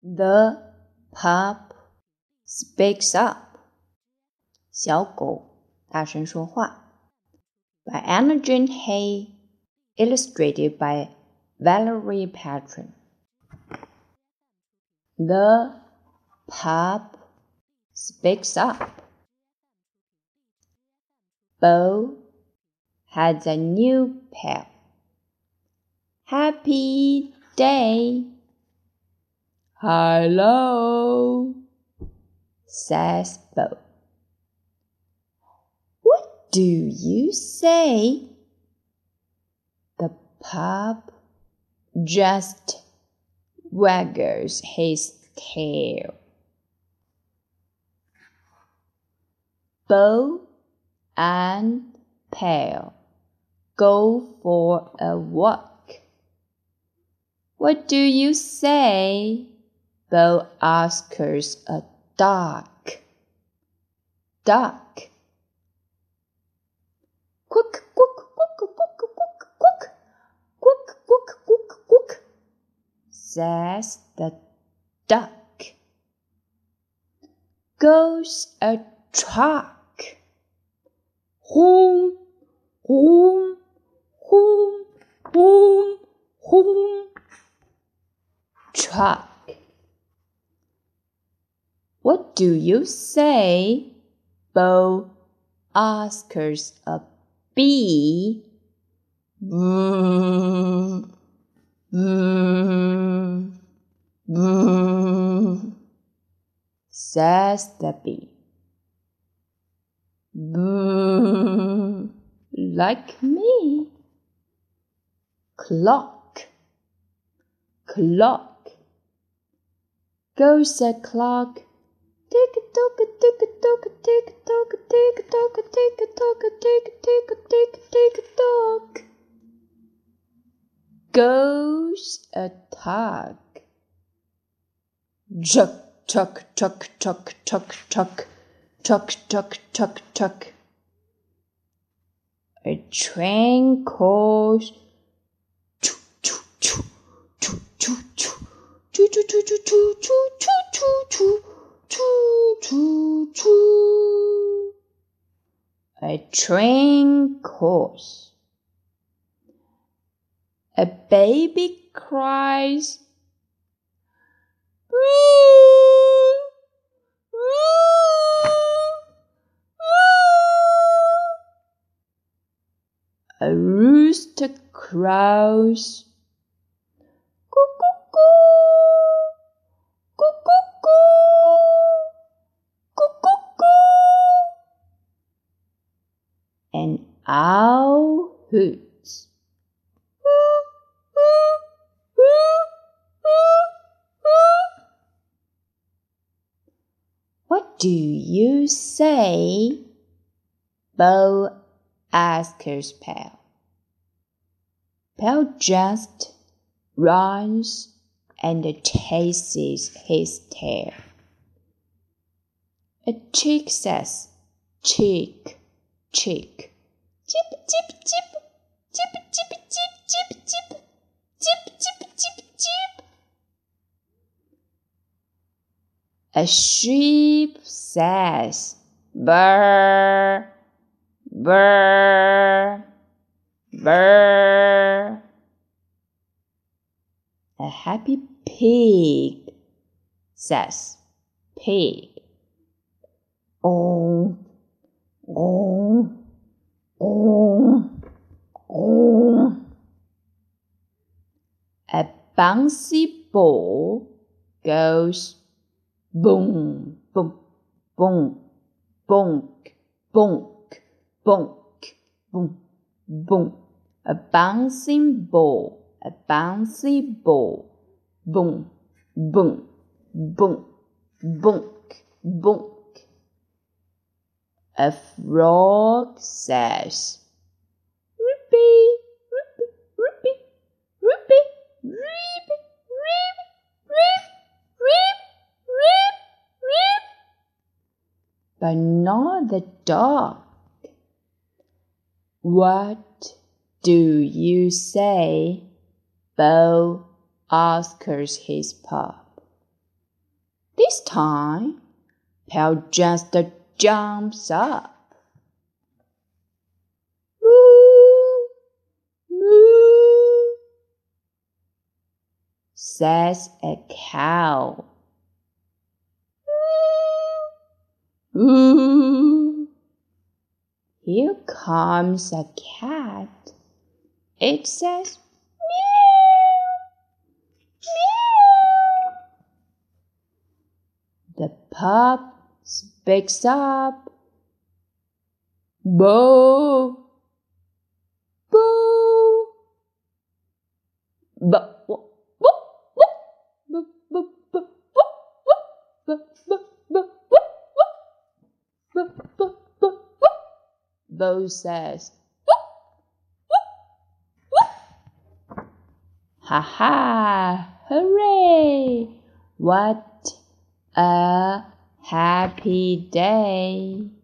The pup speaks up. 小狗大声说话。By Anna Jane Hay, illustrated by Valerie Patron. The pup speaks up. Bo has a new pal. Happy day. Hello, says Bo. What do you say? The pup just waggles his tail. Bo and Pal go for a walk. What do you say? Bo asks a duck. Duck. Quack, quack, quack, quack, quack, quack. Quack, quack, quack, quack, says the duck. Goes a truck. Home, home, home, home, home. Truck. What do you say? Bo asks a bee. Boom, boom, boom, says the bee. Boom, like me. Clock, clock. Goes a clock. Tick-a-tock, tick-a-tock, tick-a-tock, tick-a-tock, tick-a-tock, tick-a-tock, tick-a-tock. Goes a tug. Chuck, chuck, chuck, chuck, chuck, chuck, chuck, chuck, chuck, chuck. A train calls. Choo, choo, choo, choo, choo, choo, choo, choo, choo, choo, choo, choo, choo, choo. Choo, choo, choo. A train calls. A baby cries. A rooster crows. An owl hoots. What do you say? Bo asks Pal. Pal just runs and chases his tail. A chick says, chick, chick. Chip, chip, chip, chip, chip, chip, chip, chip, chip, chip, chip, chip. A sheep says, burr, burr, burr. A happy pig says, pig. Oh, oh, oh, oh. A bouncy ball goes boom, boom, boom, bonk, bonk, bonk, boom, boom. A bouncing ball, a bouncy ball, boom, boom, boom, bonk, bonk. A frog says, Ripy, Ripy, Ripy, Ripy, Ripy, Rip, Rip, Rip, Rip, Rip. But not the dog. What do you say? Bo asks his pup. time, Pail just jumps up. Moo, moo, says a cow. Moo, here comes a cat. It says, the pup speaks up. Boo! Boo! Bo says, ha ha! Hooray! What a happy day!